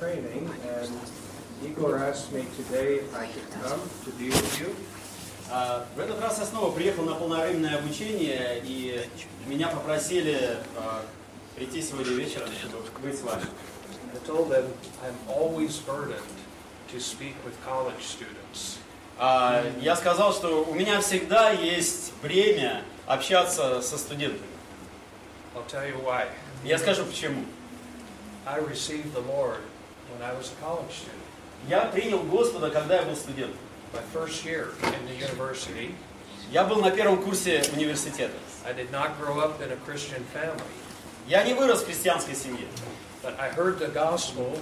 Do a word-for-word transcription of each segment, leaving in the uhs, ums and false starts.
training, and Igor asked me today if I could come to be with you. Uh, в этот раз я снова приехал на полновременное обучение, и меня попросили uh, прийти сегодня вечером, чтобы быть с вами. I told them I'm always burdened to speak with college students. Uh, я сказал, что у меня всегда есть время общаться со студентами. I'll tell you why. Я скажу почему. I received the Lord when I was a college student. Я принял Господа, когда я был студентом. My first year in the university. Я был на первом курсе университета. I did not grow up in a Christian family. Я не вырос в христианской семье. But I heard the gospel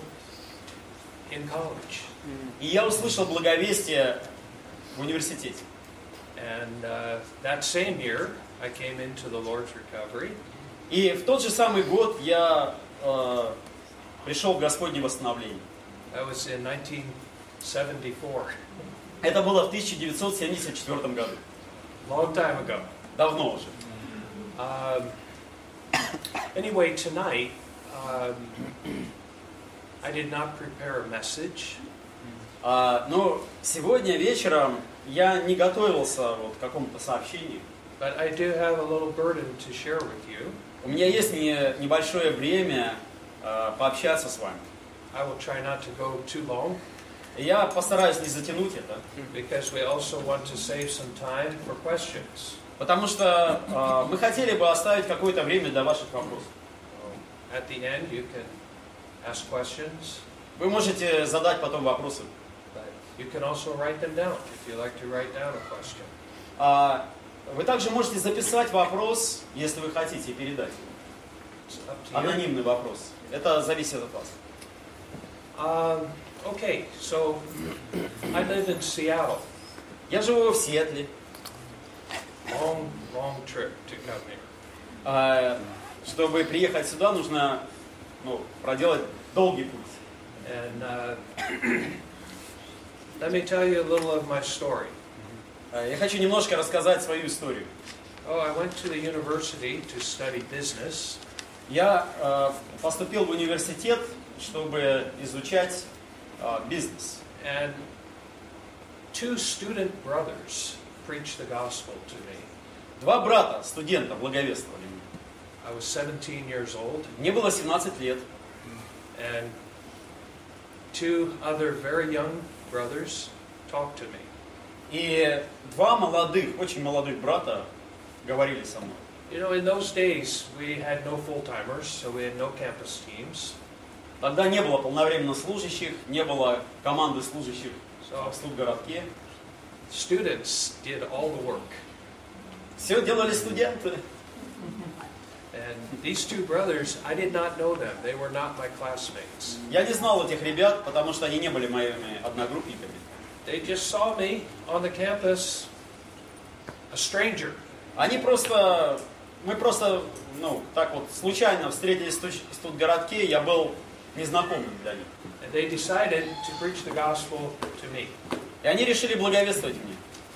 in college. И я услышал благовестие в университете. And uh, that same year, I came into the Lord's recovery. И в тот же самый год я э, пришел в Господне восстановление. That was in nineteen seventy-four. Это было в тысяча девятьсот семьдесят четвёртом году. Long time ago. Давно уже. Um, anyway, tonight, um, I did not prepare a message. Uh, но сегодня вечером я не готовился вот, к какому-то сообщению. But I do have a little burden to share with you. У меня есть не, небольшое время uh, пообщаться с вами. I will try not to go too long. Я постараюсь не затянуть это. Because we also want to save some time for questions. Потому что uh, мы хотели бы оставить какое-то время для ваших вопросов. At the end, you can ask questions. Вы можете задать потом вопросы. But you can also write them down if you like to write down a question. Uh, вы также можете записать вопрос, если вы хотите, и передать его. Анонимный вопрос. Это зависит от вас. Um, okay, so I live in Seattle. Я живу в Сиэтле. Long, long trip to come here. Uh, чтобы приехать сюда, нужно ну, проделать долгий путь. And uh, let me tell you a little of my story. Uh, я хочу немножко рассказать свою историю. Oh, I went to the university to study business. Я uh, поступил в университет, чтобы изучать uh, бизнес. And two student brothers preached the gospel to me. Два брата, студента, благовествовали мне. I was seventeen years old. Мне было семнадцать лет. And two other very young brothers talked to me. И два молодых, очень молодых брата говорили со мной. You know, in those days, we had no full-timers, so we had no campus teams. Тогда не было полновременно служащих, не было команды служащих So, в студгородке. students did all the work. Все делали студенты. And these two brothers, I did not know them. They were not my classmates. Я не знал этих ребят, потому что они не были моими одногруппниками. They just saw me on the campus, a stranger. Они просто, мы просто, ну, так вот случайно встретились в студгородке, я был незнакомым для них. And they decided to preach the gospel to me. И они решили благовествовать мне.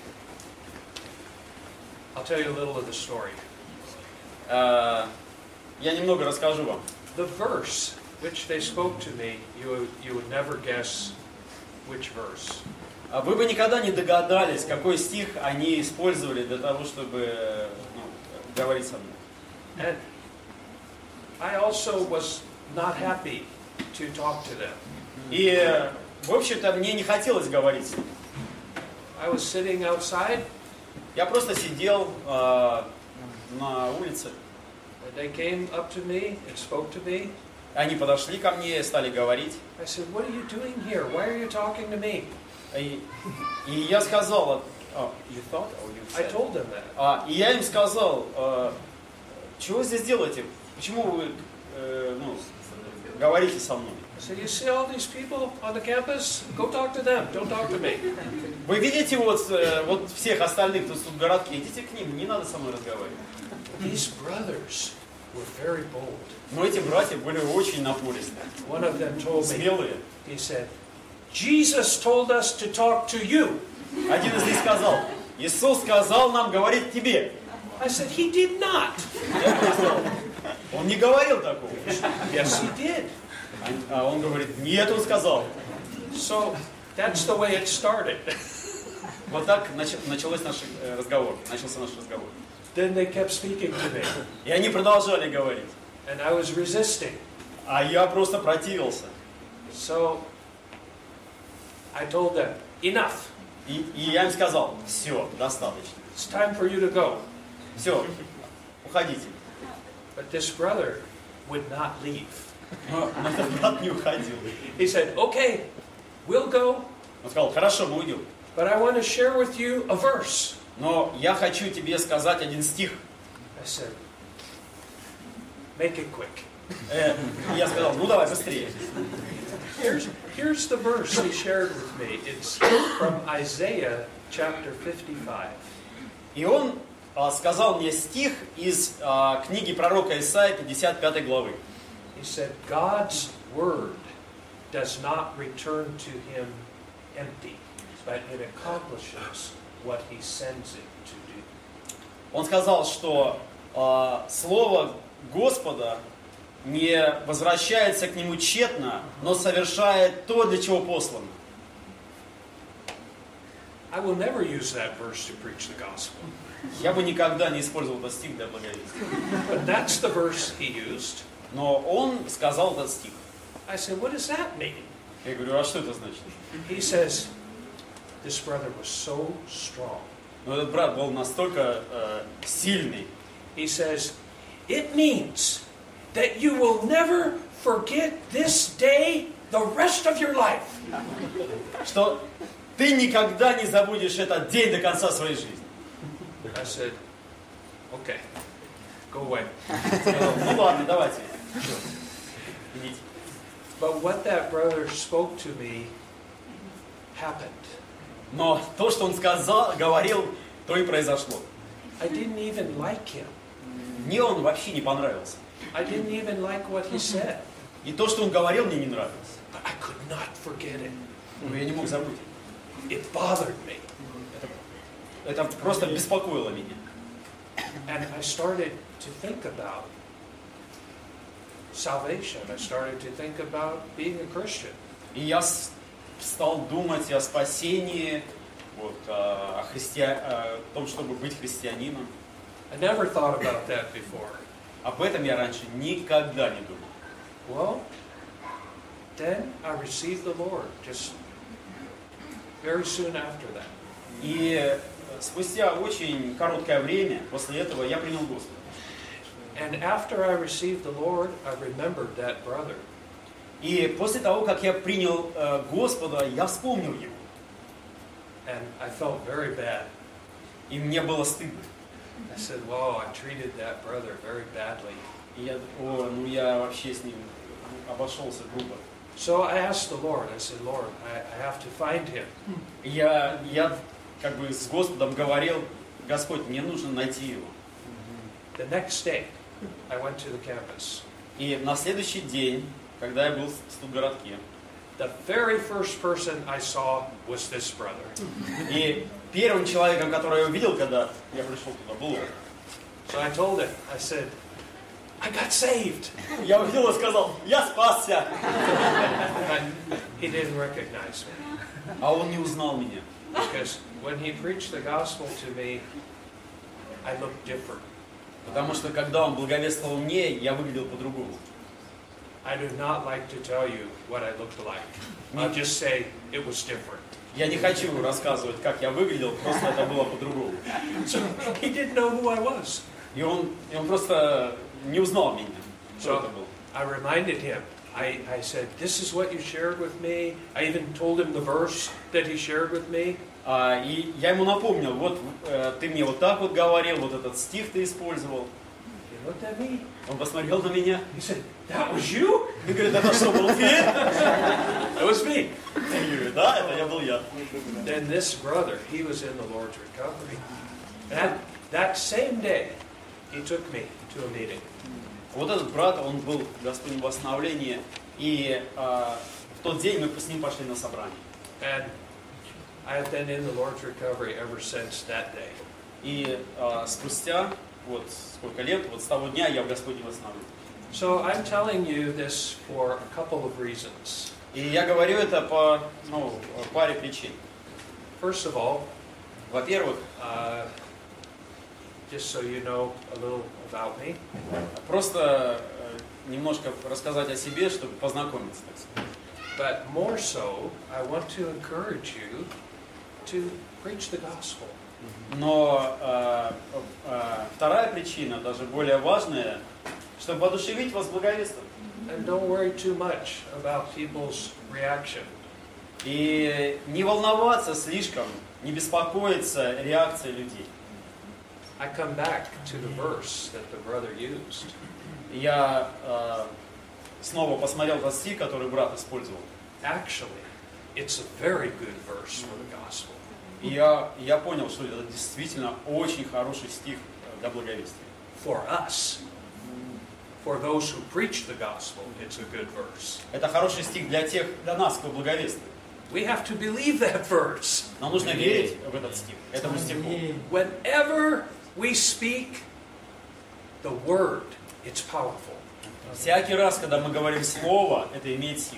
I'll tell you a little of the story. Uh, я немного расскажу вам. The verse which they spoke to me, you would, you would never guess which verse. Вы бы никогда не догадались, какой стих они использовали для того, чтобы ну, говорить со мной. And I also was not happy to talk to them. И, в общем-то, мне не хотелось говорить с ними. I was sitting outside. Я просто сидел э, на улице. And they came up to me and spoke to me. Они подошли ко мне и стали говорить. I said, "What are you doing here? Why are you talking to me?" И, и я сказал, oh, you thought, or you said? I told them that. А, и я им сказал, э, чего вы здесь делаете? Почему вы э, ну, говорите со мной? I said, "You see all these people on the campus? Go talk to them. Don't talk to me." Вы видите вот, э, вот всех остальных, кто тут в городке, идите к ним, не надо со мной разговаривать. These brothers were very bold. Но эти братья были очень напористые, One of them told me, смелые. he said, "Jesus told us to talk to you." Один из них сказал, Иисус сказал нам говорить тебе. I said, "He did not." Я сказал, он не говорил такого. Yes, he did. А он говорит, нет, он сказал. So that's the way it started. Вот так нач- началось наш э, разговор, начался наш разговор. Then they kept speaking to me, И они продолжали говорить. and I was resisting. А я просто противился. So I told them, enough. И, и я им сказал, все, достаточно. It's time for you to go. Все, уходите. But this brother would not leave. Но, но этот брат не уходил. He said, okay, we'll go, Он сказал, хорошо, мы уйдем. but I want to share with you a verse. Но я хочу тебе сказать один стих. I said, make it quick. Э, и я сказал, ну давай, быстрее. Here's, here's the verse he shared with me. It's from Isaiah chapter fifty-five. И он а, сказал мне стих из а, книги пророка Исаии пятьдесят пятой главы. He said, God's word does not return to him empty, but it accomplishes what he sends it to do. Он сказал, что а, слово Господа не возвращается к нему тщетно, но совершает то, для чего послано. I will never use that verse to preach the gospel. Я бы никогда не использовал этот стих для благовестия. But that's the verse he used. Но он сказал этот стих. I said, what does that mean? Я говорю, а что это значит? He says, this brother was so strong. Но этот брат был настолько э, сильный. He says, it means that you will never forget this day the rest of your life. Что ты никогда не забудешь этот день до конца своей жизни. I said, okay, go away. Ну ладно, давайте. Идите. But what that brother spoke to me happened. Но то, что он сказал, говорил, то и произошло. I didn't even like him. Мне он вообще не понравился. I didn't even like what he said. И то, что он говорил, мне не нравилось. But I could not forget it. Но я не мог забыть. It bothered me. Это просто беспокоило меня. And I started to think about salvation. I started to think about being a Christian. И я с- стал думать о спасении, вот, о, о, христиа- о том, чтобы быть христианином. I never thought about that before. Об этом я раньше никогда не думал. Well, then I received the Lord just very soon after that. И спустя очень короткое время после этого я принял Господа. And after I received the Lord, I remembered that brother. И после того, как я принял э, Господа, я вспомнил его. And I felt very bad. И мне было стыдно. I said, whoa, I treated that brother very badly. И я, о, ну я вообще с ним обошелся грубо. So I asked the Lord, I said, Lord, I, I have to find him. И я, я как бы с Господом говорил, Господь, мне нужно найти его. The next day, I went to the campus. И на следующий день, когда я был в студгородке, The very first person I saw was this brother. и первым человеком, которого я увидел, когда я пришел туда, был он. So I told him, I said, I got saved. Я увидел его и сказал, я спасся. But he didn't recognize me. А он не узнал меня. Because when he preached the gospel to me, I looked different. Потому что когда он благовествовал мне, я выглядел по-другому. I do not like to tell you what I looked like. I'll just say it was different. Я не хочу рассказывать, как я выглядел, просто это было по-другому. So he didn't know who I was. И он, и он просто не узнал меня, что это So было. I reminded him. I, I said, this is what you shared with me. I even told him the verse that he shared with me. А, и я ему напомнил, вот э, ты мне вот так вот говорил, вот этот стих ты использовал. He looked at me. Он посмотрел на меня He said, that was you? и говорит, это что, был ты? That was me. Я говорю, да, это я был я. Then this brother, he was in the Lord's recovery. And that, that same day, he took me to a meeting. Вот этот брат, он был в Господнем восстановлении, и а, в тот день мы с ним пошли на собрание. And I have been in the Lord's recovery ever since that day. И а, спустя, вот сколько лет, вот с того дня я в Господнем восстановлении. So I'm telling you this for a couple of reasons. И я говорю это по ну, паре причин. First of all, Во-первых, uh, just so you know a little about me, просто э, немножко рассказать о себе, чтобы познакомиться, так сказать. but more so, I want to encourage you to preach the gospel. Но э, э, вторая причина, даже более важная, чтобы воодушевить вас благовествовать. And don't worry too much about people's reaction. И не волноваться слишком, не беспокоиться реакцией людей. I come back to the verse that the brother used. Я э, снова посмотрел тот стих, который брат использовал. Actually, it's a very good verse for the gospel. И я, я понял, что это действительно очень хороший стих для благовестия. For us, for those who preach the gospel, it's a good verse. Это хороший стих для тех, для нас, кто благовествует. We have to believe that verse. Нам нужно верить в этот стих, этому стиху. Whenever we speak the word, it's powerful. Всякий раз, когда мы говорим слово, это имеет силу.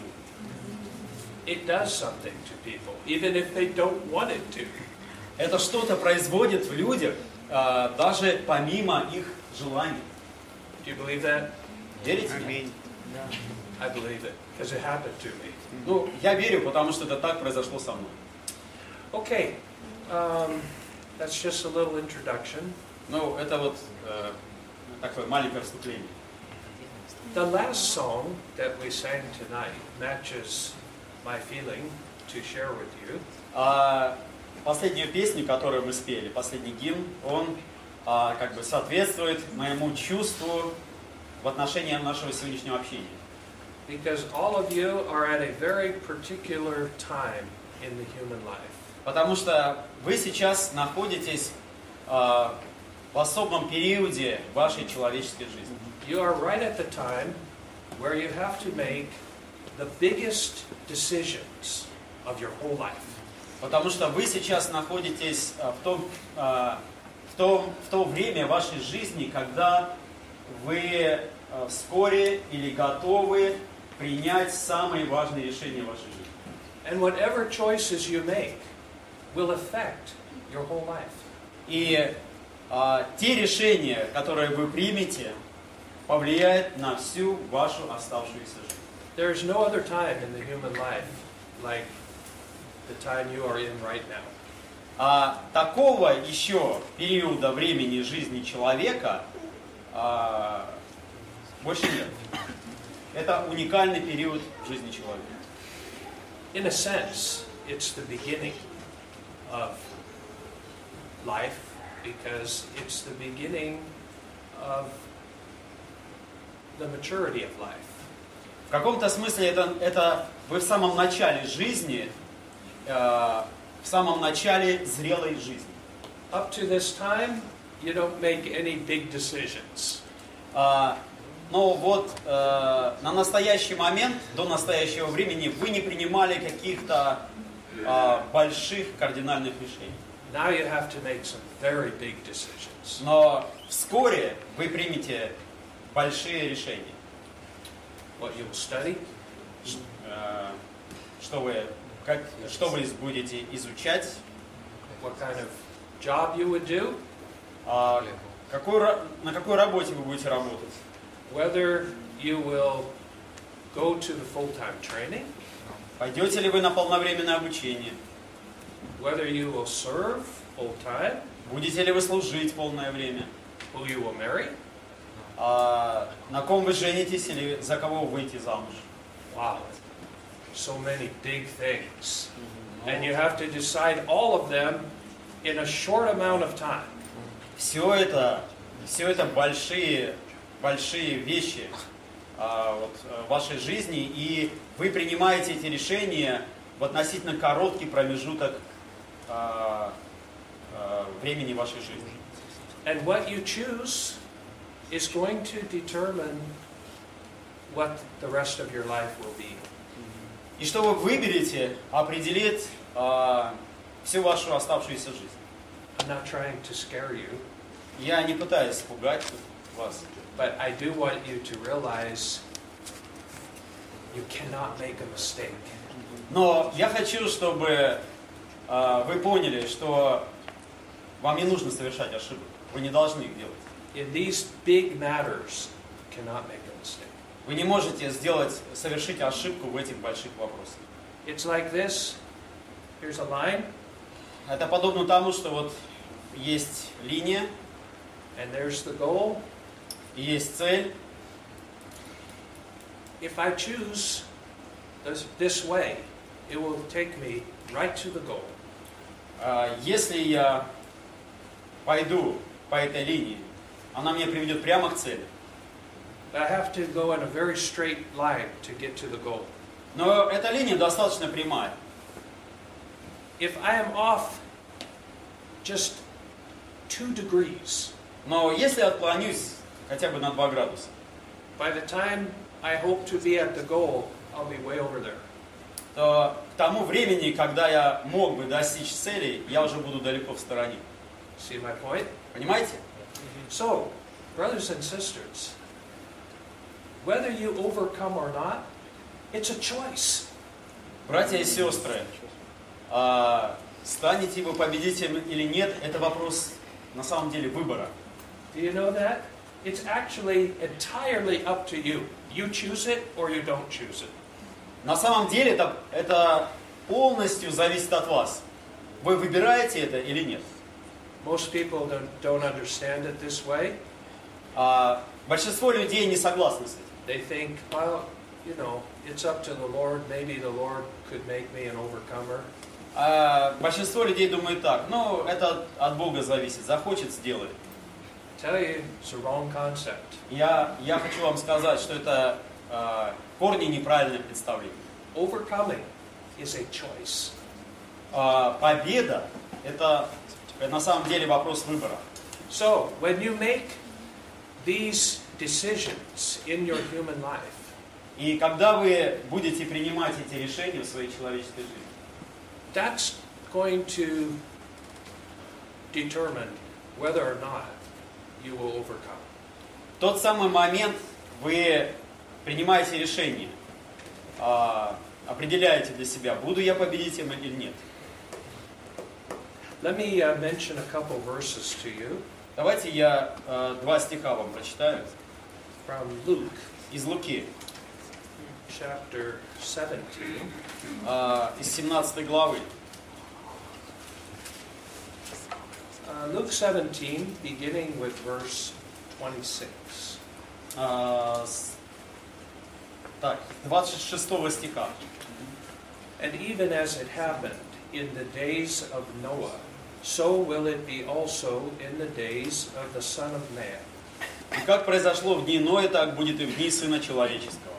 It does something to people, even if they don't want it to. Это что-то производит в людях, а, даже помимо их желаний. Do you believe that? Верите? I believe it, because it happened to me. Ну, я верю, потому что это так произошло со мной. Okay, um, that's just a little introduction. Ну, это вот э, такое маленькое вступление. The last song that we sang tonight matches my feeling to share with you. А последнюю песню, которую мы спели, последний гимн, он а, как бы соответствует моему чувству в отношении нашего сегодняшнего общения. Because all of you are at a very particular time in the human life. Потому что вы сейчас находитесь а, в особом периоде вашей человеческой жизни. You are right at the time where you have to make the biggest decisions of your whole life. Потому что вы сейчас находитесь а, в том, а, в том, в то время вашей жизни, когда вы а, вскоре или готовы принять самые важные решения в вашей жизни. And whatever choices you make will affect your whole life. И а, те решения, которые вы примете, повлияют на всю вашу оставшуюся жизнь. There is no other time in the human life like the time you are in right now. А такого еще периода времени жизни человека а, больше нет. Это уникальный период в жизни человека. In a sense, it's the beginning of life because it's the beginning of the maturity of life. В каком-то смысле это, это вы в самом начале жизни, э, в самом начале зрелой жизни. Up to this time, you don't make any big decisions. А, но вот э, на настоящий момент, до настоящего времени, вы не принимали каких-то э, больших кардинальных решений. Now you have to make some very big decisions. Но вскоре вы примете большие решения. What you'll study, Э, что вы, как, что вы будете изучать, what kind of job you would do, а, какой, ра- на какой работе вы будете работать. whether you will go to the full-time training, Пойдете ли вы на полновременное обучение? whether you will serve full-time, Будете ли вы служить полное время? who you will marry. А, на ком вы женитесь или за кого вы выйти замуж? Wow, so many big things. And you have to decide all of them in a short amount of time. Все это, все это большие, большие вещи а, вот, в вашей жизни, и вы принимаете эти решения в относительно короткий промежуток а, а, времени вашей жизни. And what you choose is going to determine what the rest of your life will be. И что вы выберете, определит а, всю вашу оставшуюся жизнь. I'm not trying to scare you, Я не пытаюсь пугать вас, But I do want you to realize you cannot make a mistake. Но я хочу, чтобы э, вы поняли, что вам не нужно совершать ошибок. Вы не должны их делать. In these big matters, you cannot make a mistake. Вы не можете сделать, совершить ошибку в этих больших вопросах. It's like this. Here's a line, Это подобно тому, что вот есть линия, and there's the goal. и есть цель. If I choose this, this way, it will take me right to the goal. А Если я пойду по этой линии, она меня приведет прямо к цели. But I have to go in a very straight line to get to the goal. Но эта линия достаточно прямая. If I am off just two degrees, Но если я отклонюсь хотя бы на два градуса, by the time I hope to be at the goal, I'll be way over there. то к тому времени, когда я мог бы достичь цели, я уже буду далеко в стороне. See my point? Понимаете? So, brothers and sisters, whether you overcome or not, it's a choice. Братья и сестры, а, станете вы победителем или нет, это вопрос на самом деле выбора. Do you know that? It's actually entirely up to you. You choose it or you don't choose it. На самом деле это, это полностью зависит от вас. Вы выбираете это или нет. Most people don't, don't understand it this way. А, большинство людей не согласны с этим. They think, well, you know, it's up to the Lord. Maybe the Lord could make me an overcomer. А, большинство людей думают так, ну, это от Бога зависит, захочет, сделает. Tell you, it's a wrong concept. Я, я хочу вам сказать, что это а, корни неправильное представление. Overcoming is a choice. А, победа – это, это на самом деле вопрос выбора. So, when you make these decisions in your human life, И когда вы будете принимать эти решения в своей человеческой жизни, that's going to determine whether or not you will overcome. в тот самый момент вы принимаете решение, а, определяете для себя, буду я победителем или нет. Let me uh, mention a couple verses to you Давайте я а, два стиха вам прочитаю from Luke из Луки, chapter seventeen. а, из семнадцатой главы. Uh, Luke seventeen, beginning with verse twenty-six. А, с- так, двадцать шестого стиха. And even as it happened in the days of Noah, so will it be also in the days of the Son of Man. И как произошло в дни Ноя, так будет и в дни Сына Человеческого.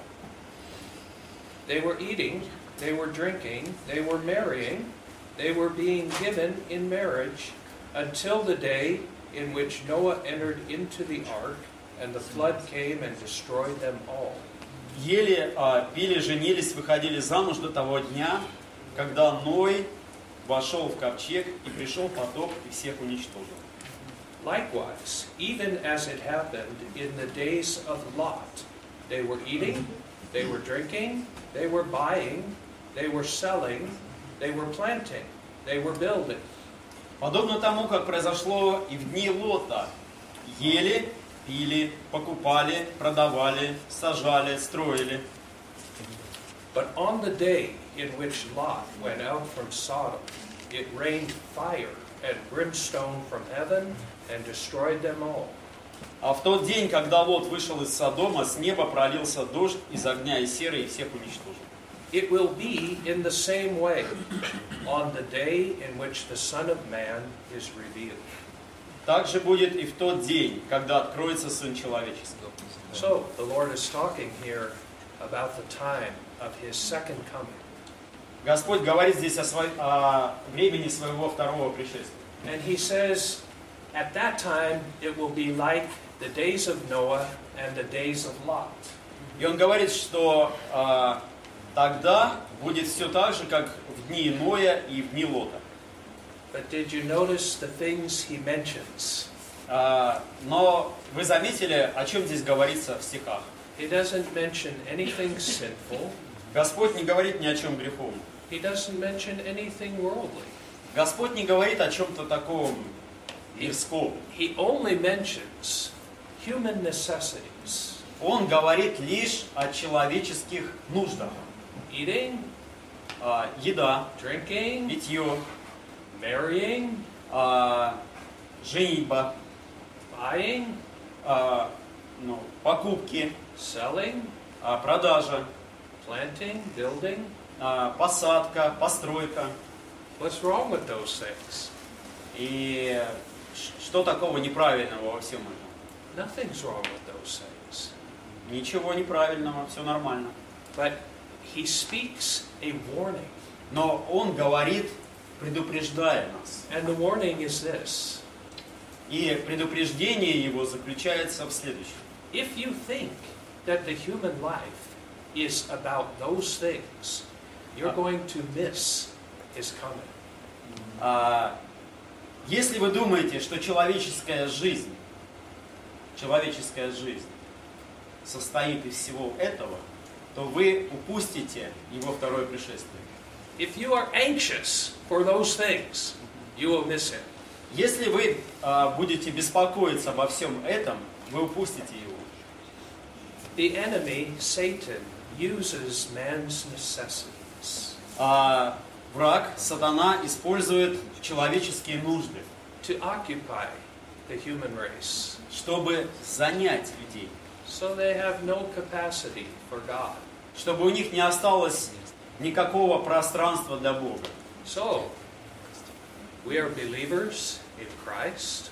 They were eating, they were drinking, they were marrying, they were being given in marriage until the day in which Noah entered into the ark, and the flood came and destroyed them all. Ели, а, пили, женились, выходили замуж до того дня, когда Ной вошел в ковчег, и пришел потоп, и всех уничтожил. Likewise, even as it happened in the days of Lot, they were eating, they were drinking, they were buying, they were selling, they were planting, they were building. Подобно тому, как произошло и в дни Лота. Ели, пили, покупали, продавали, сажали, строили. But on the day in which Lot went out from Sodom, it rained fire and brimstone from heaven and destroyed them all. А в тот день, когда Лот вышел из Содома, с неба пролился дождь из огня и серы, и всех уничтожил. It will be in the same way on the day in which the Son of Man is revealed. Так же будет и в тот день, когда откроется Сын Человеческий. So, the Lord is talking here about the time of His second coming. Господь говорит здесь о, свой, о времени своего второго пришествия. And He says, at that time it will be like the days of Noah and the days of Lot. И Он говорит, что а, тогда будет все так же, как в дни Ноя и в дни Лота. But did you notice the things He mentions? А, но вы заметили, о чем здесь говорится в стихах? He doesn't mention anything sinful. Господь не говорит ни о чем греховном. He doesn't mention anything worldly. Господь не говорит о чем-то таком мирском. He only mentions human necessities. Он говорит лишь о человеческих нуждах. Eating, А, еда, drinking, питье, marrying, а, женитьба, buying, а, ну, покупки, selling, а, продажа, planting, building. а, посадка, постройка. What's wrong with those things? И ш- что такого неправильного во всем этом? Nothing's wrong with those things. Ничего неправильного, все нормально. But he speaks a warning. Но он говорит, предупреждая нас. And the warning is this. И предупреждение его заключается в следующем. If you think that the human life is about those things, you're going to miss his coming. А, если вы думаете, что человеческая жизнь, человеческая жизнь состоит из всего этого, то вы упустите его второе пришествие. If you are anxious for those things, you will miss him. Если вы а, будете беспокоиться обо всем этом, вы упустите его. The enemy, Satan, uses man's necessities А, враг, сатана, использует человеческие нужды, to occupy the human race. чтобы занять людей, So they have no capacity for God. чтобы у них не осталось никакого пространства для Бога. So, we are believers in Christ,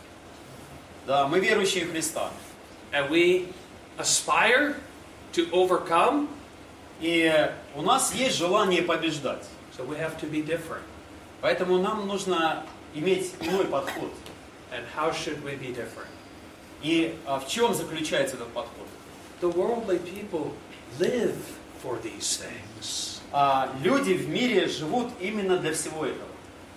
Да, мы верующие в Христа. and we aspire to overcome, И у нас есть желание побеждать. so we have to be different. Поэтому нам нужно иметь иной подход. And how should we be different? И а, в чем заключается этот подход? The worldly people live for these things. А, люди в мире живут именно для всего этого.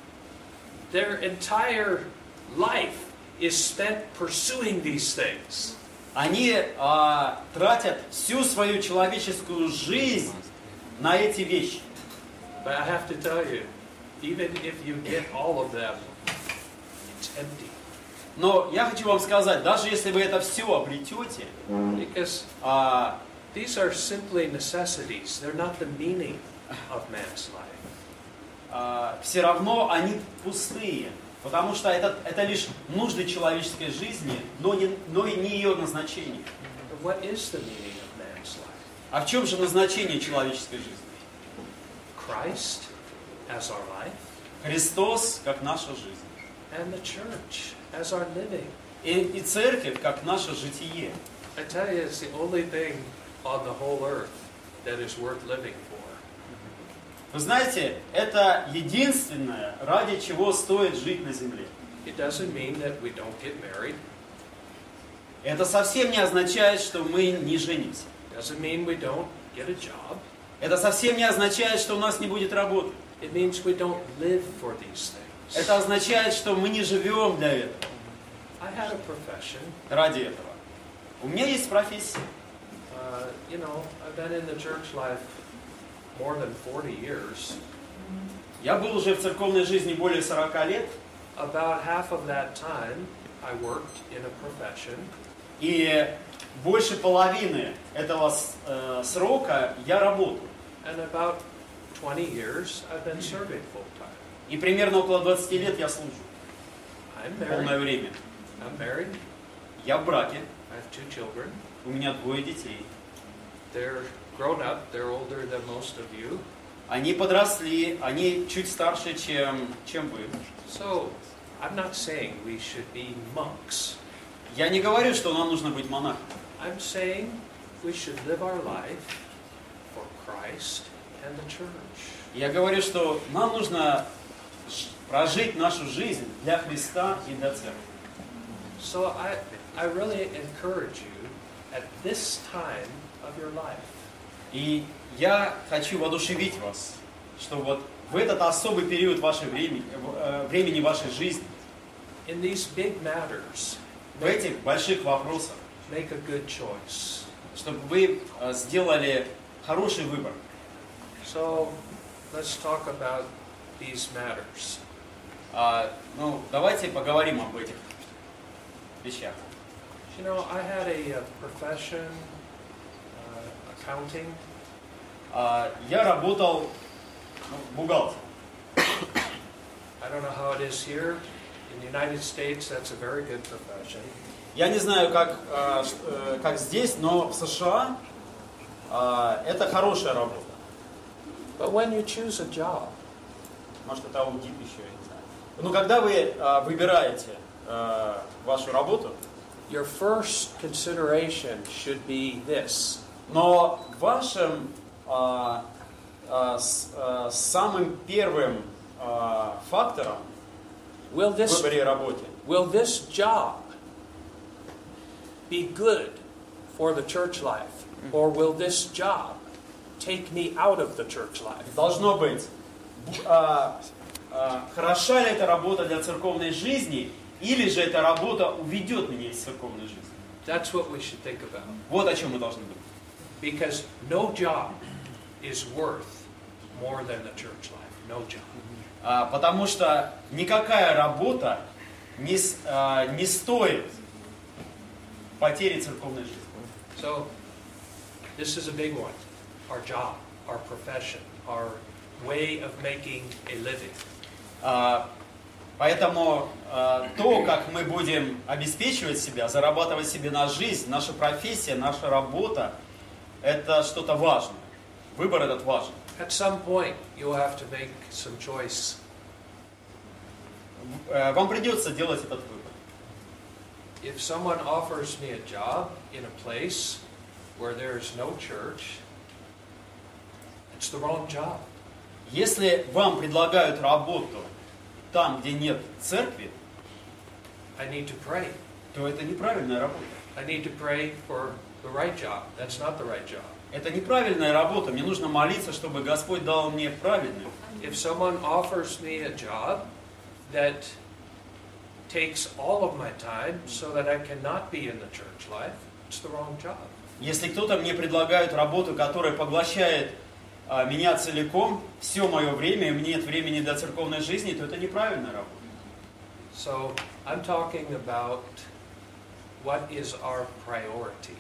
Their entire life is spent pursuing these things. Они а, тратят всю свою человеческую жизнь на эти вещи. But I have to tell you, even if you get all of them, it's empty. Но я хочу вам сказать, даже если вы это все обретете, Because а, these are simply necessities. They're not the meaning of man's life. а, все равно они пустые. Потому что это, это лишь нужды человеческой жизни, но, не, но и не ее назначение. But what is the meaning of man's life? А в чем же назначение человеческой жизни? Christ as our life, Христос как наша жизнь. and the church as our living. И, и церковь как наше житие. I tell you, it's the only thing on the whole earth that is worth living for. Вы знаете, это единственное, ради чего стоит жить на земле. It doesn't mean that we don't get married. Это совсем не означает, что мы не женимся. Doesn't mean we don't get a job. Это совсем не означает, что у нас не будет работы. It means we don't live for these things. Это означает, что мы не живем для этого, I had a profession. ради этого. У меня есть профессия. Uh, you know, I've been in the church life more than forty years. Я был уже в церковной жизни более сорока лет. About half of that time, I worked in a profession. И больше половины этого э, срока я работал. And about twenty years, I've been serving full time. И примерно около двадцати лет я служу. I'm Полное married. время. I'm married. Я в браке. I have two children. У меня двое детей. They're grown up. They're older than most of you. Они подросли, они чуть старше, чем, чем вы. So, I'm not saying we should be monks. Я не говорю, что нам нужно быть монахами. I'm saying we should live our life for Christ and the church. Я говорю, что нам нужно ж- прожить нашу жизнь для Христа и для церкви. So I, I really encourage you at this time of your life, И я хочу воодушевить вас, что вот в этот особый период вашей времени, э, времени вашей жизни in these big matters, в этих больших вопросах, make a good choice. чтобы вы э, сделали хороший выбор. So let's talk about these matters. А, ну, давайте поговорим об этих вещах. You know, I had a, uh profession, uh, accounting. А, я работал ну, бухгалтером. I don't know how it is here. In the United States, that's a very good profession. Я не знаю, как, э, ш- э, как здесь, но в США э, это хорошая работа. But when you choose a job, Может, это аудит еще, я не знаю. Ну, когда вы э, выбираете э, вашу работу, your first consideration should be this. но вашим э, э, с, э, самым первым э, фактором Will в this, выборе работы will this job be good for the church life? Or will this job take me out of the church life? должно быть, э, э, хороша ли эта работа для церковной жизни, или же эта работа уведет меня из церковной жизни. That's what we should think about. Вот о чем мы должны думать. Because no job is worth more than the church life. No job. А, потому что никакая работа не, с- а, не стоит потери церковной жизни. So, this is a big one. Our job, our profession, our way of making a living. А, поэтому а, то, как мы будем обеспечивать себя, зарабатывать себе на жизнь, наша профессия, наша работа, это что-то важное. Выбор этот важен. At some point, you'll have to make some choice. Э, Вам придется делать этот выбор. If someone offers me a job in a place where there's no church, it's the wrong job. Если вам предлагают работу там, где нет церкви, I need to pray. то это неправильная работа. I need to pray for the right job. That's not the right job. Это неправильная работа. Мне нужно молиться, чтобы Господь дал мне правильную. If someone offers me a job that takes all of my time so that I cannot be in the church life, it's the wrong job. Если кто-то мне предлагает работу, которая поглощает а, меня целиком, все мое время, и мне нет времени для церковной жизни, то это неправильная работа. So I'm talking about what is our priority.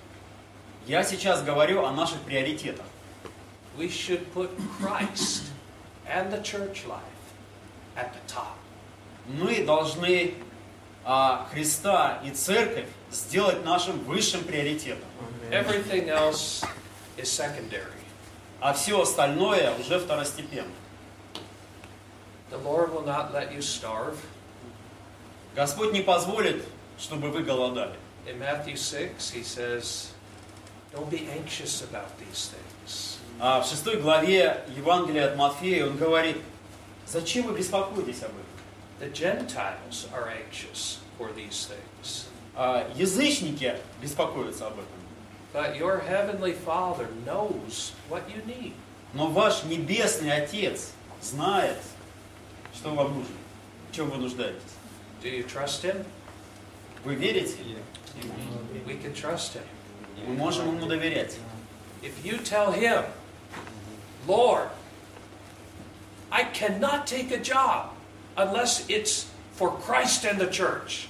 Я сейчас говорю о наших приоритетах. We should put Christ and the church life at the top. Мы должны а, Христа и церковь сделать нашим высшим приоритетом. Everything else is secondary. А все остальное уже второстепенно. The Lord will not let you starve. Господь не позволит, чтобы вы голодали. In Matthew six, he says, don't be anxious about these things. А в шестой главе Евангелия от Матфея он говорит, зачем вы беспокоитесь об этом? The Gentiles are anxious for these things. А язычники беспокоятся об этом. But your heavenly Father knows what you need. Но ваш небесный Отец знает, что вам нужно, в чем вы нуждаетесь. Do you trust Him? Вы верите? We can trust Him. Мы можем Ему доверять. If you tell Him, Lord, I cannot take a job unless it's for Christ and the church.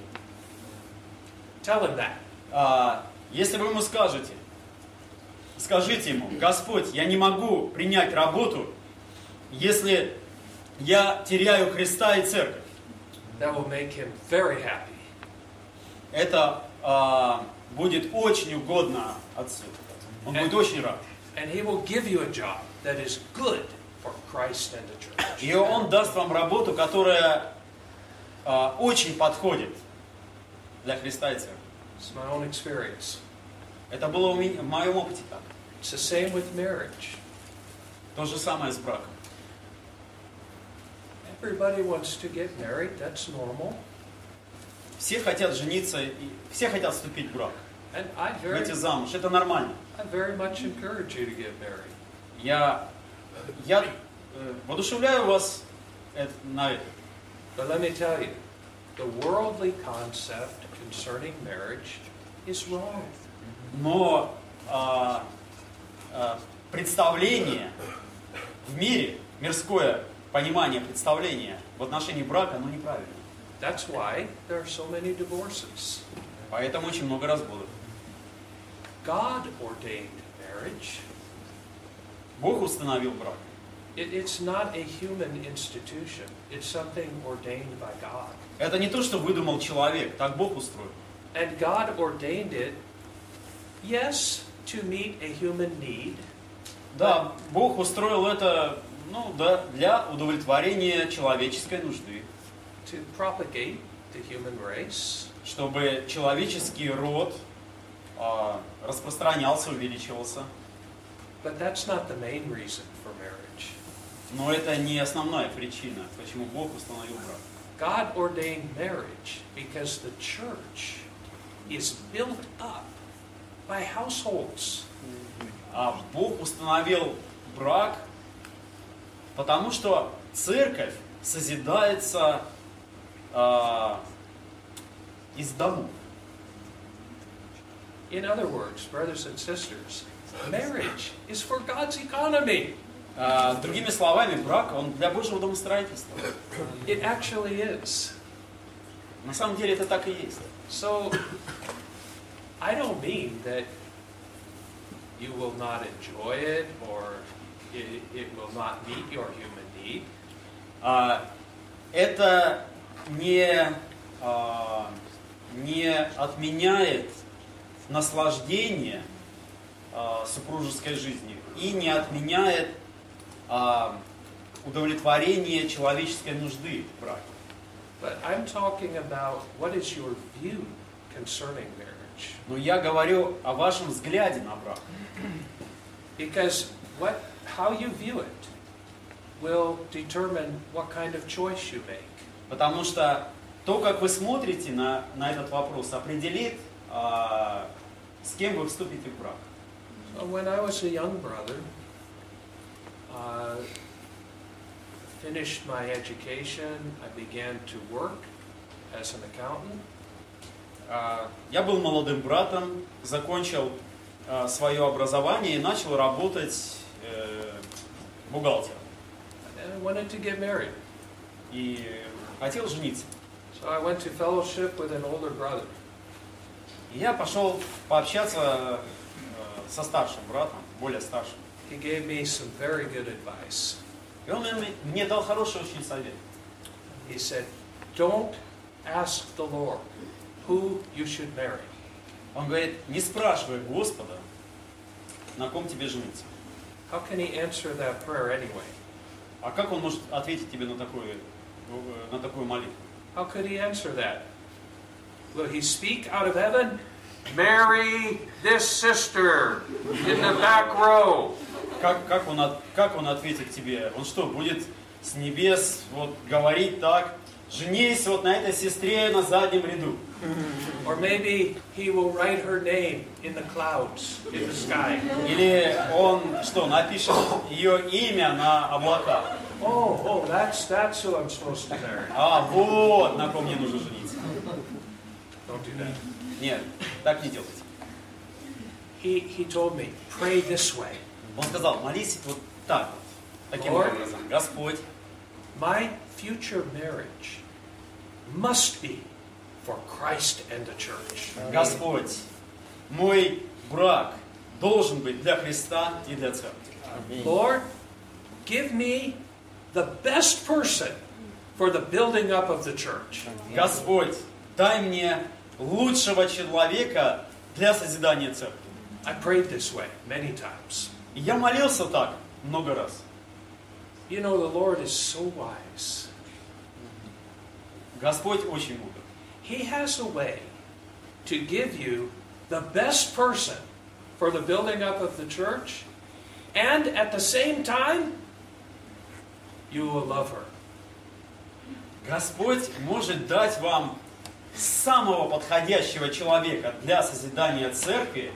Tell Him that. А, если вы ему скажете, скажите ему, Господь, я не могу принять работу, если я теряю Христа и церковь. That will make Him very happy. Это а, будет очень угодно Отцу. Он будет очень рад. And He will give you a job that is good for Christ and the church. И Он даст вам работу, которая а, очень подходит для Христа и церкви. It's my own experience. Это было у меня, в моем опыте так. It's the same with marriage. То же самое с браком. Everybody wants to get married. That's normal. Все хотят жениться, и все хотят вступить в брак, And I very, выйти замуж. Это нормально. I very much encourage you to get married. Я, я э, воодушевляю вас это- на это. But let me tell you, the worldly concept concerning marriage is wrong. Но а, а, представление в мире, мирское понимание, представление в отношении брака, оно неправильно. That's why there are so many divorces. Поэтому очень много разводов. God ordained marriage. Бог установил брак. It, it's not a human institution. It's something ordained by God. Это не то, что выдумал человек, так Бог устроил. And God ordained it, yes, to meet a human need. Да, Бог устроил это, ну да, для удовлетворения человеческой нужды. To propagate the human race. Чтобы человеческий род а, распространялся, увеличивался. But that's not the main reason for marriage. Но это не основная причина, почему Бог установил брак. God ordained marriage because the church is built up by households. А Бог установил брак, потому что церковь созидается а, из домов. In other words, brothers and sisters, marriage is for God's economy. А, другими словами, брак, он для Божьего домостроительства. It actually is. На самом деле это так и есть. So, I don't mean that you will not enjoy it or it, it will not meet your human need. А, это не, а, не отменяет наслаждение а, супружеской жизнью и не отменяет а, удовлетворение человеческой нужды в браке. But I'm talking about what is your view concerning marriage. Но я говорю о вашем взгляде на брак. Because what, how you view it will determine what kind of choice you make. Потому что то, как вы смотрите на, на этот вопрос, определит, а, с кем вы вступите в брак. So when I was a young brother, uh, finished my education, I began to work as an accountant. А, я был молодым братом, закончил а, свое образование и начал работать э, бухгалтером. And I wanted to get married. И хотел жениться. So I went to fellowship with an older brother. И я пошел пообщаться э, со старшим братом, более старшим. He gave me some very good advice. И он мне, мне дал хороший очень совет. He said, don't ask the Lord who you should marry. Он говорит, не спрашивай Господа, на ком тебе жениться. How can he answer that prayer anyway? А как он может ответить тебе на такую, на такую молитву? How could he answer that? Will he speak out of heaven? Marry this sister in the back row. Как, как, он, от- как он ответит тебе? Он что, будет с небес вот говорить так? Женись вот на этой сестре на заднем ряду. Or maybe he will write her name in the clouds, in the sky. Или он что, напишет ее имя на облаках? Oh, oh, that's that's who I'm supposed to marry. А, вот на ком мне нужно жениться. Don't do that. Нет, так не делайте. He he told me, pray this way. Он сказал, молись вот так вот, таким Lord. образом. Господь, My future marriage must be for Christ and the church. Господь, мой брак должен быть для Христа и для церкви. Lord, give me the best person for the building up of the church. Господь, дай мне лучшего человека для созидания церкви. I prayed this way many times. И я молился так много раз. You know, the Lord is so wise. Господь очень мудр. He has a way to give you the best person for the building up of the church, and at the same time, you will love her. Господь может дать вам самого подходящего человека для созидания церкви,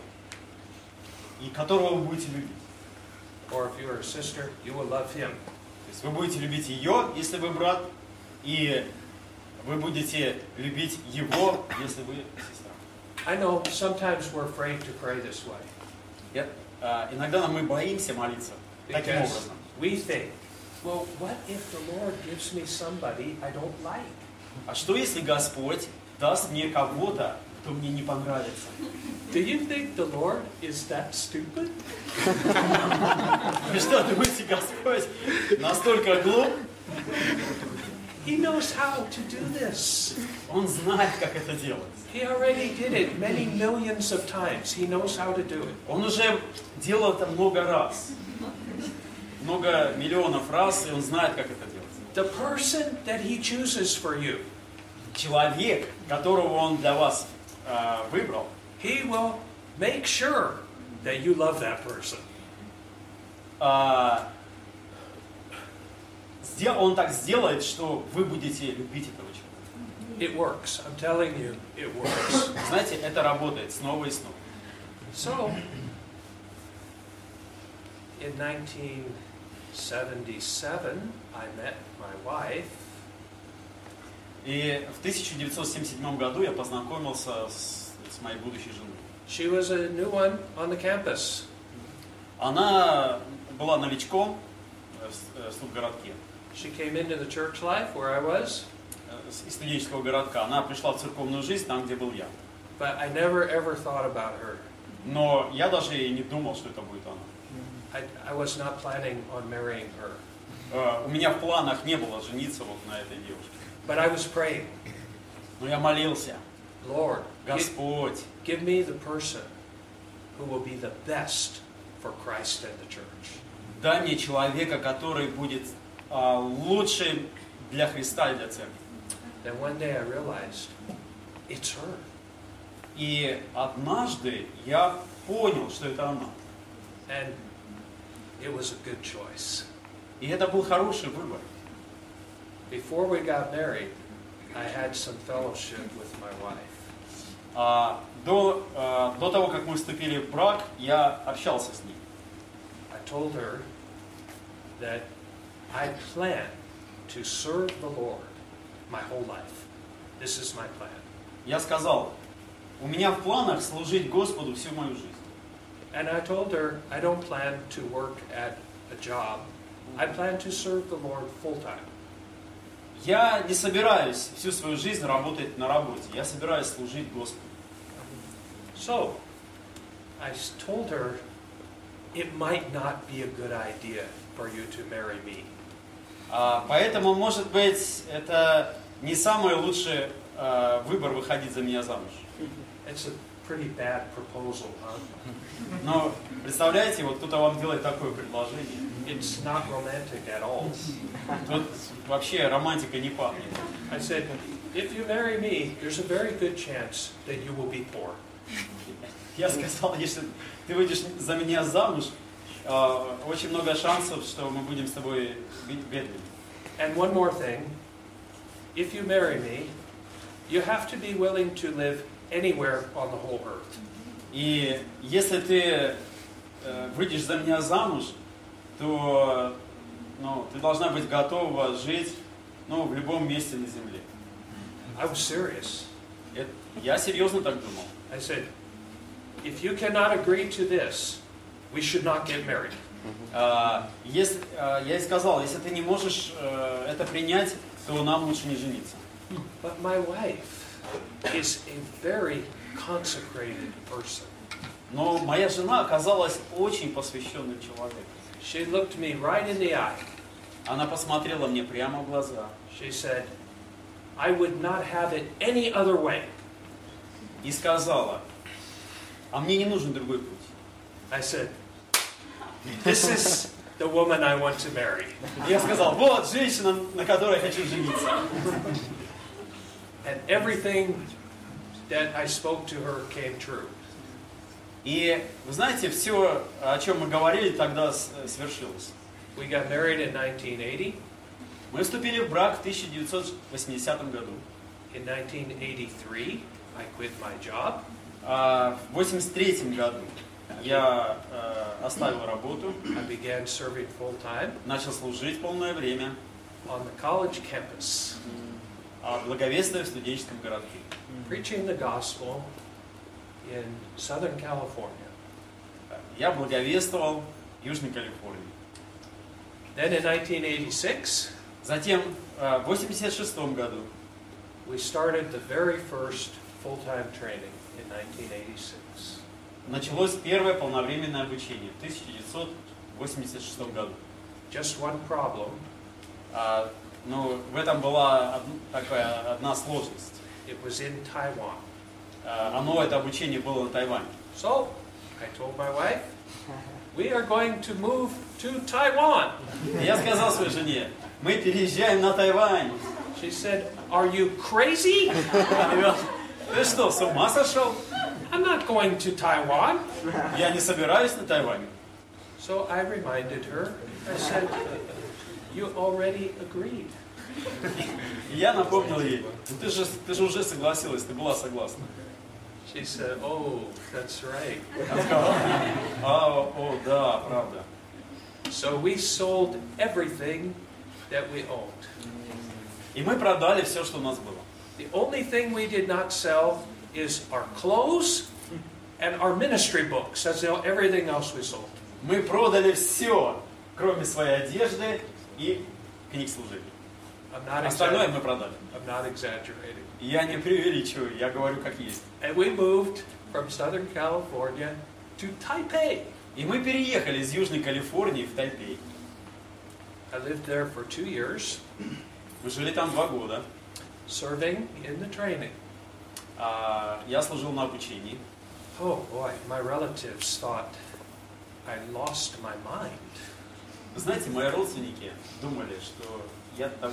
и которого вы будете любить. Or if you're a sister, you will love him. То есть вы будете любить ее, если вы брат, и вы будете любить его, если вы сестра. I know sometimes we're afraid to pray this way. Я, а, иногда мы боимся молиться таким Because образом. we think, well, what if the Lord gives me somebody I don't like? А что если Господь даст мне кого-то, кто мне не понравится? Do you think the Lord is that stupid? Вы что, думаете, Господь настолько глуп? He knows how to do this. Он знает, как это делать. He already did it many millions of times. He knows how to do it. Он уже делал это много раз. Много миллионов раз, и он знает, как это делать. The person that he chooses for you, Человек, которого он для вас э, выбрал, he will make sure that you love that person. э, сдел- он так сделает, что вы будете любить этого человека. It works. I'm telling you, it works. Знаете, это работает снова и снова. So, in nineteen seventy-seven, I met my wife. И в тысяча девятьсот семьдесят седьмом году я познакомился с, с моей будущей женой. She was a new one on the campus. Она была новичком в с- в студгородке, She came into the church life where I was, э, с- из студенческого городка. Она пришла в церковную жизнь там, где был я. but I never ever thought about her. Но я даже и не думал, что это будет она. I, I was not planning on marrying her. Э, У меня в планах не было жениться вот на этой девушке. But I was praying, Но я молился: Lord, gi- Господь, give me the person who will be the best for Christ and the church. дай мне человека, который будет а, лучшим для Христа и для церкви. Then one day I realized, it's her. И однажды я понял, что это она. And it was a good choice. И это был хороший выбор. Before we got married, I had some fellowship with my wife. А, до, а, до того, как мы вступили в брак, я общался с ней. I told her that I plan to serve the Lord my whole life. This is my plan. Я сказал: у меня в планах служить Господу всю мою жизнь. And I told her I don't plan to work at a job. I plan to serve the Lord full time. Я не собираюсь всю свою жизнь работать на работе. Я собираюсь служить Господу. So, I s- told her it might not be a good idea for you to marry me. А, поэтому, может быть, это не самый лучший а, выбор выходить за меня замуж. It's a pretty bad proposal, huh? Но представляете, вот кто-то вам делает такое предложение. It's not romantic at all. Тут вообще романтика не пахнет. I said, if you marry me, there's a very good chance that you will be poor. Я сказал: если ты выйдешь за меня замуж, а, очень много шансов, что мы будем с тобой бед- бедными. And one more thing, if you marry me, you have to be willing to live anywhere on the whole earth. И если ты э, выйдешь за меня замуж, то ну, ты должна быть готова жить ну, в любом месте на земле. I was serious. Это- я серьезно так думал. I said, if you cannot agree to this, we should not get married. А, если, а, я и сказал: если ты не можешь э, это принять, то нам лучше не жениться. But my wife is a very consecrated person. Но моя жена оказалась очень посвященным человеком. She looked me right in the eye. Она посмотрела мне прямо в глаза She said, I would not have it any other way. и сказала: а мне не нужен другой путь. I said, this is the woman I want to marry. И я сказал: вот женщина, на которой я хочу жениться. And everything that I spoke to her came true. И вы знаете, все, о чем мы говорили, тогда с- свершилось. We got married in nineteen eighty. Мы вступили в брак в тысяча девятьсот восьмидесятом году. In nineteen eighty-three, I quit my job. А в восемьдесят третьем году я э, оставил работу, I began serving full time начал служить полное время on the college campus. а, благовествуя в студенческом городке. Preaching the gospel in Southern California. Я благовествовал в Южной Калифорнии. Then in nineteen eighty-six, Затем в восемьдесят шестом году we started the very first full-time training in nineteen eighty-six. началось первое полновременное обучение в тысяча девятьсот восемьдесят шестом году. Just one problem. А, ну, в этом была од, такая одна сложность. It was in Taiwan. А, оно, это обучение было на Тайване. So, I told my wife, we are going to move to Taiwan. И я сказал своей жене, мы переезжаем на Тайвань. She said, are you crazy? Она говорит, ты что, с ума сошел? I'm not going to Taiwan. Я не собираюсь на Тайвань. So I reminded her, I said, you already agreed. И я напомнил ей, ну ты же, ты же уже согласилась, ты была согласна. She said, oh, that's right. Она сказала, а, о, да, правда. So we sold everything that we owned. И мы продали все, что у нас было. The only thing we did not sell is our clothes and our ministry books. That's everything else we sold. Мы продали все, кроме своей одежды и книг служения. I'm not, Остальное exagger- мы продали. I'm not exaggerating. Я не преувеличиваю, я говорю как есть. And we moved from Southern California to Taipei. И мы переехали из Южной Калифорнии в Тайпей. I lived there for two years, Мы жили там два года. serving in the training. А, я служил на обучении. Oh boy, my relatives thought I lost my mind. Вы знаете, мои родственники думали, что я того,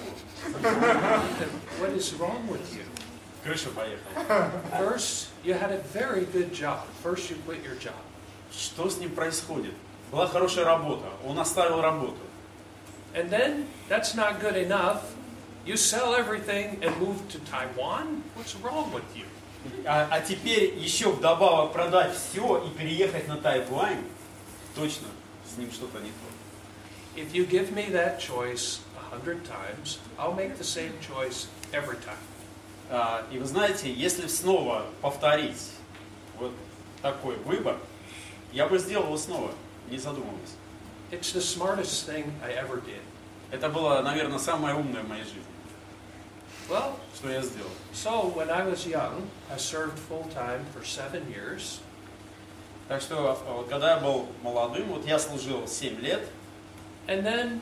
What is wrong with you? крыша поехала. First, you had a very good job. First, you quit your job. Что с ним происходит? Была хорошая работа, он оставил работу. And then, that's not good enough. You sell everything and move to Taiwan? What's wrong with you? А, а теперь еще вдобавок продать все и переехать на Тайвань? Точно, с ним что-то не то. If you give me that choice a hundred times, I'll make the same choice every time. А, и вы знаете, если снова повторить вот такой выбор, я бы сделал его снова, не задумываясь. It's the smartest thing I ever did. Это было, наверное, самое умное в моей жизни, Well, что я сделал. so when I was young, I served full-time for seven years. Так что, вот, когда я был молодым, вот я служил семь лет, And then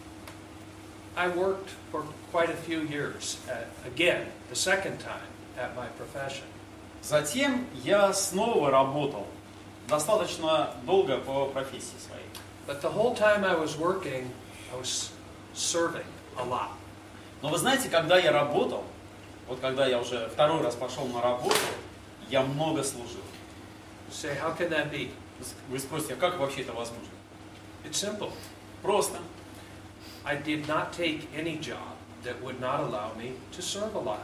I worked for quite a few years, at, again, the second time, at my profession. затем я снова работал достаточно долго по профессии своей. But the whole time I was working, I was serving a lot. Но вы знаете, когда я работал, вот когда я уже второй раз пошел на работу, я много служил. You say, how can that be? Вы спросите, а как вообще это возможно? It's simple. Просто. I did not take any job that would not allow me to serve a lot.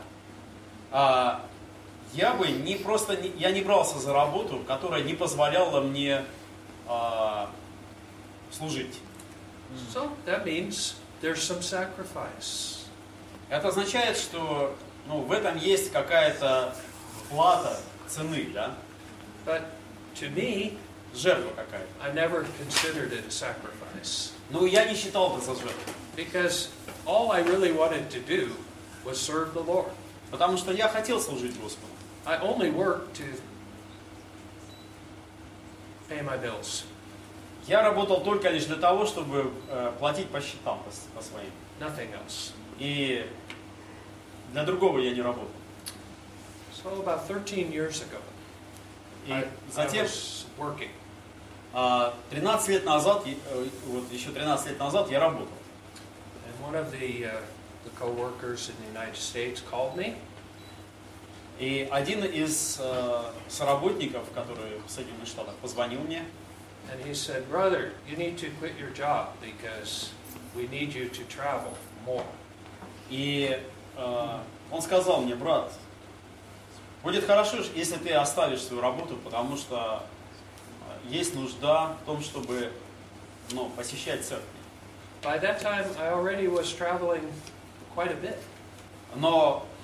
А, я бы не просто, не, я не брался за работу, которая не позволяла мне а, служить. So that means there's some sacrifice. Это означает, что ну, в этом есть какая-то плата цены, да? But to me, Жертва какая-то. I never considered it a sacrifice. Но я не считал это за жертву. Because all I really wanted to do was serve the Lord. Потому что я хотел служить Господу. I only worked to pay my bills. Я работал только лишь для того, чтобы э, платить по счетам, по, по своим. Nothing else. И для другого я не работал. So about thirteen years ago, И I, I затем, was working. э, тринадцать лет назад, э, вот еще тринадцать лет назад я работал. And one of the, uh, the co-workers in the United States called me. И один из э, соработников, который в Соединенных Штатах, позвонил мне. And he said, brother, you need to quit your job because we need you to travel more. И э, он сказал мне, брат, будет хорошо, если ты оставишь свою работу, потому что есть нужда в том, чтобы ну, посещать церковь. By that time, I already was traveling quite a bit. Но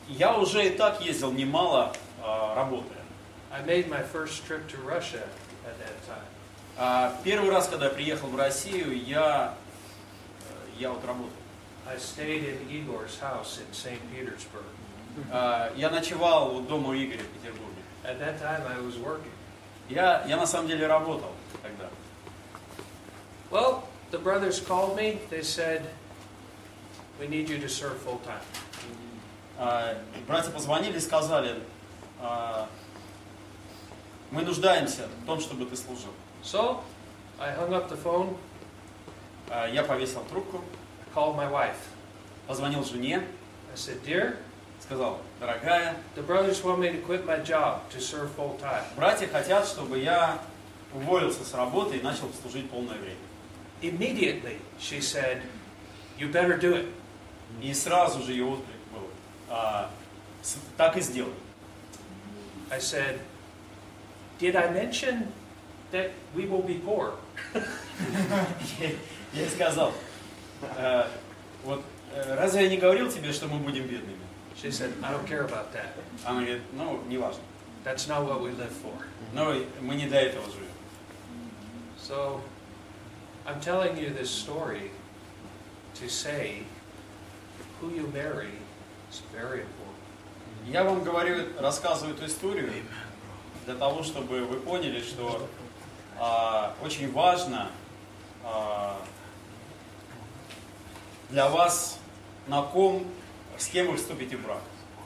я уже и так ездил немало, а, работая. I made my first trip to Russia at that time. А, Первый раз, когда я приехал в Россию, я, э, я вот работал. I stayed in Igor's house in Saint Petersburg. А, Я ночевал у дома у Игоря в Петербурге. At that time, I was working. Я, я на самом деле работал тогда. Well, the brothers called me. They said, "We need you to serve full time." А, Братья позвонили и сказали, а, мы нуждаемся в том, чтобы ты служил. So, I hung up the phone, А, Я повесил трубку, called my wife. позвонил жене, I said, "Dear, сказал, дорогая, the brothers want me to quit my job to serve full time." братья хотят, чтобы я уволился с работы и начал служить полное время. Immediately, she said, "You better do it." И сразу же ее отклик был, а, с- так и сделай. I said, "Did I mention that we will be poor?" Я ей сказал, «Э, вот э, разве я не говорил тебе, что мы будем бедными? She said, "I don't care about that. Она говорит, ну, неважно. That's not what we live for." Но мы не для этого живем. So, I'm telling you this story to say who you marry is very important. Я вам говорю, рассказываю эту историю для того, чтобы вы поняли, что а, очень важно а, для вас, на ком, с кем вы вступите в брак.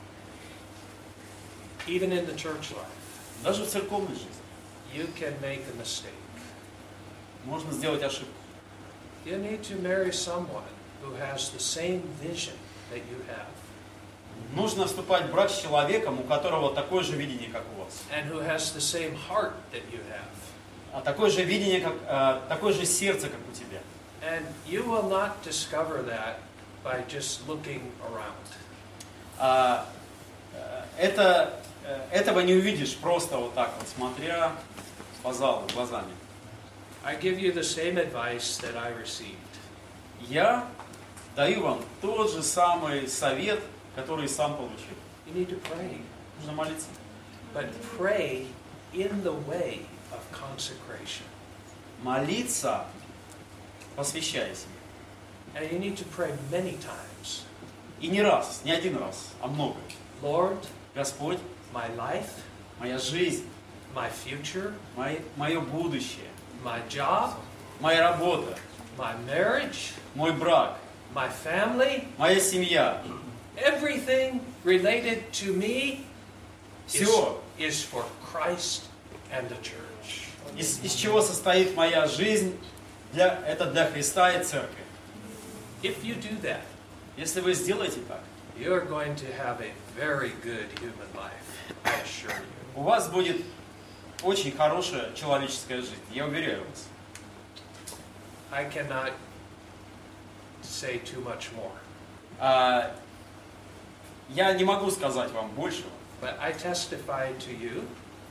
Even in the church life, Даже в церковной жизни you can make a mistake. можно сделать ошибку. You need to marry someone who has the same vision that you have Нужно вступать в брак с человеком, у которого такое же видение, как у вас. and who has the same heart that you have. А такое же видение, как, а, такое же сердце, как у тебя. And you will not discover that by just looking around. А, э, это, э, этого не увидишь просто вот так вот, смотря по залу глазами. I give you the same advice that I received. Я даю вам тот же самый совет, который сам получил. You need to pray, Нужно молиться. but pray in the way of consecration. Молиться, посвящая себя. And you need to pray many times. И не раз, не один раз, а много. Lord, Господь, my life, моя жизнь, my future, мое, мое будущее, my job, моя работа, my marriage, мой брак, my family, моя семья, everything related to me is, все, is for Christ and the church. из, из чего состоит моя жизнь, для, это для Христа и Церкви. If you do that, Если вы сделаете так, you are going to have a very good human life, I assure you. у вас будет очень хорошая человеческая жизнь, я уверяю вас. I cannot say too much more, А, я не могу сказать вам большего, but I testify to you,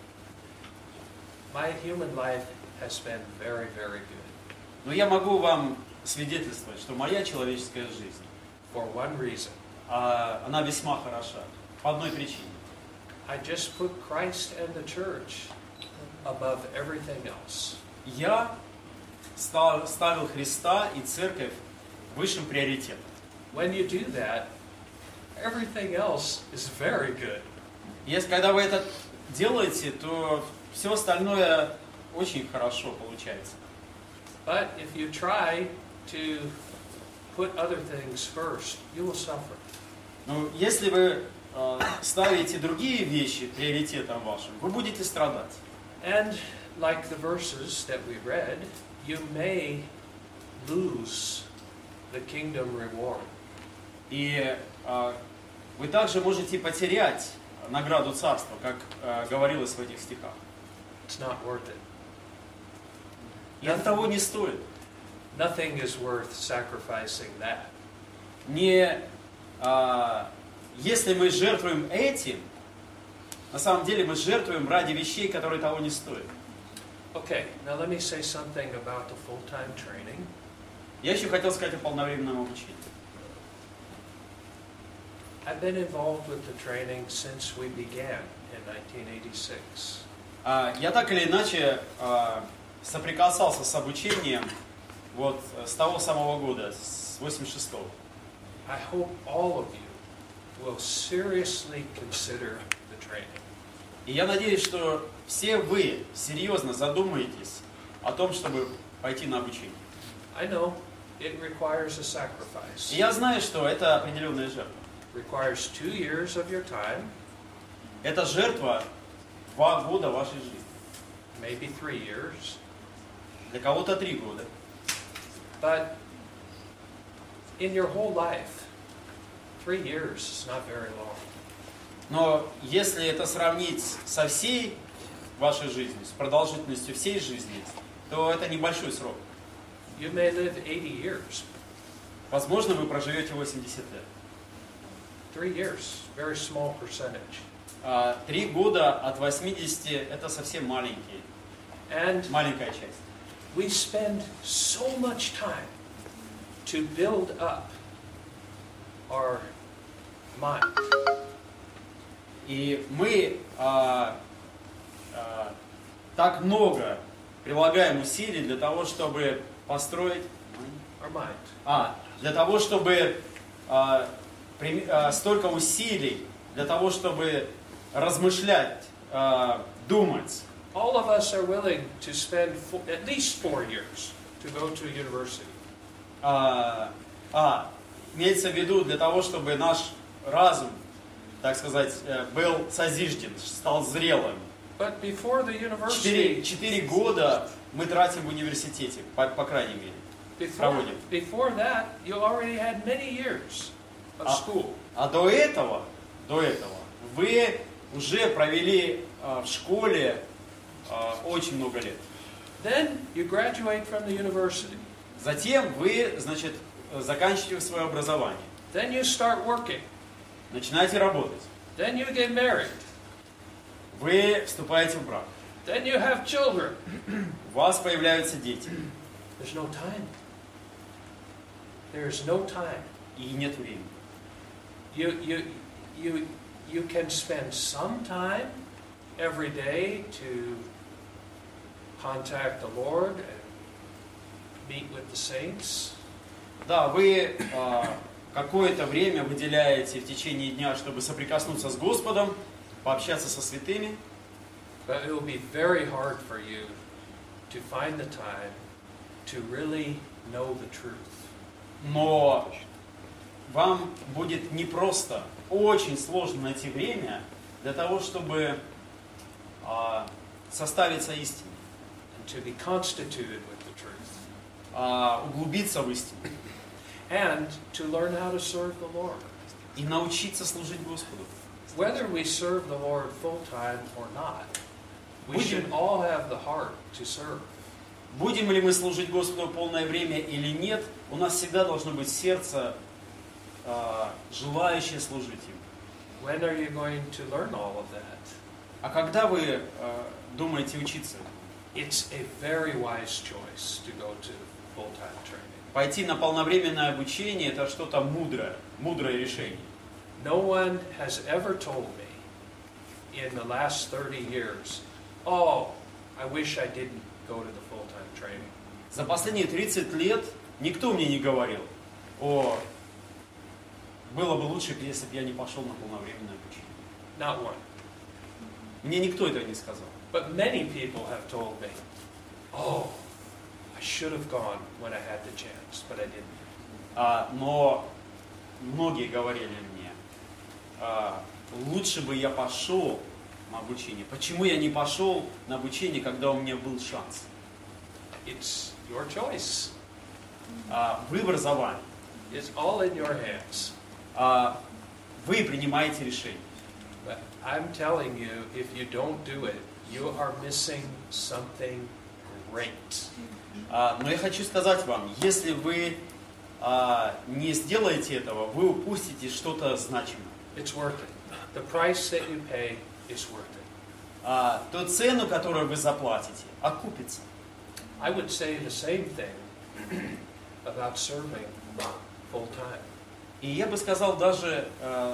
my human life has been very, very good но я могу вам свидетельствовать, что моя человеческая жизнь, for one reason. а, она весьма хороша. По одной причине. I just put Christ and the church above everything else. Я став- ставил Христа и Церковь высшим приоритетом. When you do that, everything else is very good. Если когда вы это делаете, то все остальное очень хорошо получается. But if you try to put other things first, you will suffer. Но если вы э, ставите другие вещи приоритетом вашим, вы будете страдать. And like the verses that we read, you may lose the kingdom reward. И э, вы также можете потерять награду царства, как э, говорилось в этих стихах. It's not worth it. И это того не стоит. Nothing is worth sacrificing that. Не, э, если мы жертвуем этим, на самом деле мы жертвуем ради вещей, которые того не стоят. Okay, now let me say something about the full-time training. Я еще хотел сказать о полновременном обучении. I've been involved with the training since we began in nineteen eighty-six. А, Я так или иначе а, соприкасался с обучением вот с того самого года, с восемьдесят шестого. I hope all of you will seriously consider the training. И я надеюсь, что все вы серьезно задумаетесь о том, чтобы пойти на обучение. I know it requires a sacrifice. И я знаю, что это определенная жертва. It requires two years of your time, Это жертва два года вашей жизни. maybe three years. Для кого-то три года. But in your whole life, three years is not very long. Но если это сравнить со всей вашей жизнью, с продолжительностью всей жизни, то это небольшой срок. You may live eighty years. Возможно, вы проживете восемьдесят лет. Three years, very small percentage. А три года от восьмидесяти – это совсем маленький, And маленькая часть. we spend so much time to build up our mind. И мы а, а, так много прилагаем усилий для того, чтобы построить, Our mind. а, для того, чтобы а, при, а, столько усилий для того, чтобы размышлять, а, думать. All of us are willing to spend four, at least four years to go to university. А, а, имеется в виду для того, чтобы наш разум, так сказать, был созижден, стал зрелым. But before the Четыре, university, четыре года мы тратим в университете, по, по крайней мере. before, проводим. before that, you already had many years of А, school. а до этого, до этого вы уже провели а, в школе а, очень много лет. Then you graduate from the university. Затем вы, значит, заканчиваете свое образование, Then you start working. начинаете работать, Then you get married. вы вступаете в брак, Then you have children. у вас появляются дети, There's no time. There's no time. и нет времени. You, you, you, you can spend some time every day to contact the Lord and meet with the saints. Да, вы а, какое-то время выделяете в течение дня, чтобы соприкоснуться с Господом, пообщаться со святыми, But it will be very hard for you to find the time to really know the truth. но вам будет непросто, очень сложно найти время для того, чтобы а, составиться истиной, And to be constituted with the truth. а, углубиться в истину And to learn how to serve the Lord. и научиться служить Господу. Whether we serve the Lord full time or not, we Будем- should all have the heart to serve. Будем ли мы служить Господу полное время или нет, у нас всегда должно быть сердце, а, желающее служить Ему. When are you going to learn all of that? А когда вы а, думаете учиться? It's a very wise choice to go to full-time training. Пойти на полновременное обучение – это что-то мудрое, мудрое решение. No one has ever told me in the last thirty years, oh, I wish I didn't go to the full-time training. За последние тридцать лет никто мне не говорил, о, было бы лучше, если бы я не пошел на полновременное обучение. Not one. Мне никто этого не сказал. But many people have told me, oh, I should have gone when I had the chance, but I didn't. А, но многие говорили мне, а, лучше бы я пошел на обучение. Почему я не пошел на обучение, когда у меня был шанс? It's your choice. А, выбор за вами. It's all in your hands. А, вы принимаете решение. But I'm telling you, if you don't do it, you are missing something great. А, но я хочу сказать вам, если вы а, не сделаете этого, вы упустите что-то значимое. It's worth it. The price that you pay is worth it. А, ту цену, которую вы заплатите, окупится. I would say the same thing about serving full time. И я бы сказал даже э,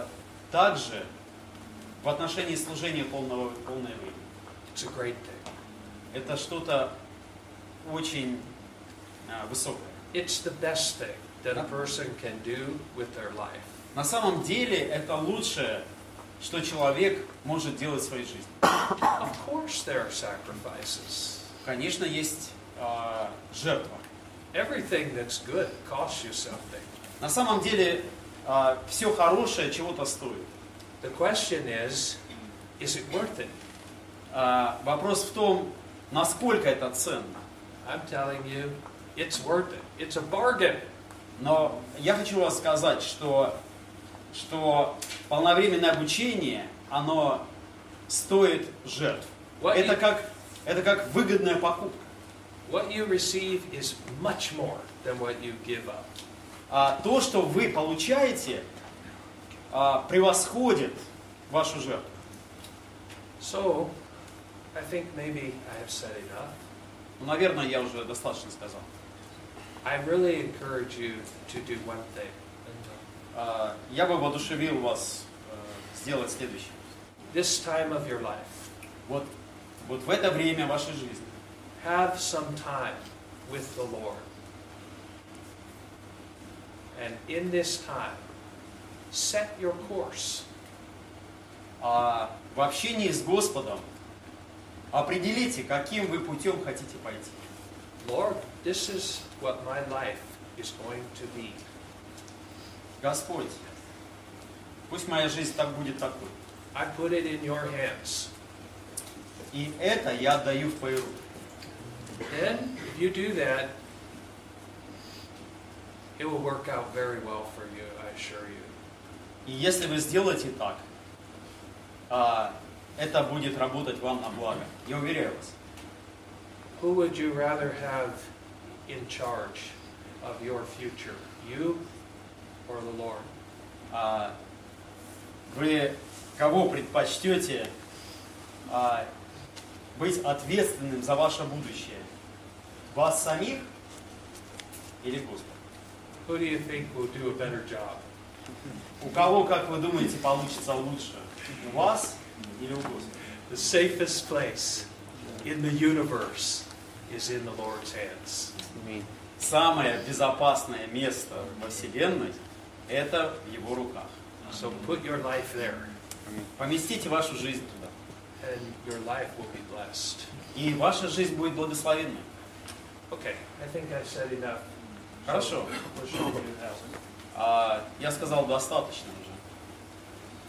также в отношении служения полного, полное время. It's a great thing. Это что-то очень а, высокое. It's the best thing that a person can do with their life. На самом деле это лучшее, что человек может делать в своей жизни. Of course there are sacrifices. Конечно, есть а, жертва. Everything that's good costs you something. На самом деле а, все хорошее чего-то стоит. The question is, is it worth it? А, вопрос в том, насколько это ценно. I'm telling you, it's worth it. It's a bargain. Но я хочу вам сказать, что, что полновременное обучение, оно стоит жертв. What Это you- как, это как выгодная покупка. What you receive is much more than what you give up. А то, что вы получаете, а, превосходит вашу жертву. So, I think maybe I have said enough. Ну, наверное, я уже достаточно сказал. I really encourage you to do one thing. А, я бы воодушевил вас э, сделать следующее. This time of your life, Вот, вот в это время вашей жизни have some time with the Lord. And in this time, set your course. а, в общении с Господом определите, каким вы путем хотите пойти. Lord, this is what my life is going to be. Господь, пусть моя жизнь так будет такой. I put it in your hands. И это я отдаю в твои руки. Then, if you do that, it will work out very well for you, I assure you. И если вы сделаете так, а, это будет работать вам на благо. Я уверяю вас. Who would you rather have in charge of your future, you or the Lord? А, вы кого предпочтете а, быть ответственным за ваше будущее? Вас самих или Господа? Who do you think will do a better job? У кого, как вы думаете, получится лучше? У вас или у Господа? The safest place in the universe is in the Lord's hands. Самое безопасное место во Вселенной – это в Его руках. So put your life there, Поместите вашу жизнь туда, and your life will be blessed. и ваша жизнь будет благословенной. Okay, I think I said enough. Хорошо. What should we do now? А, я сказал достаточно.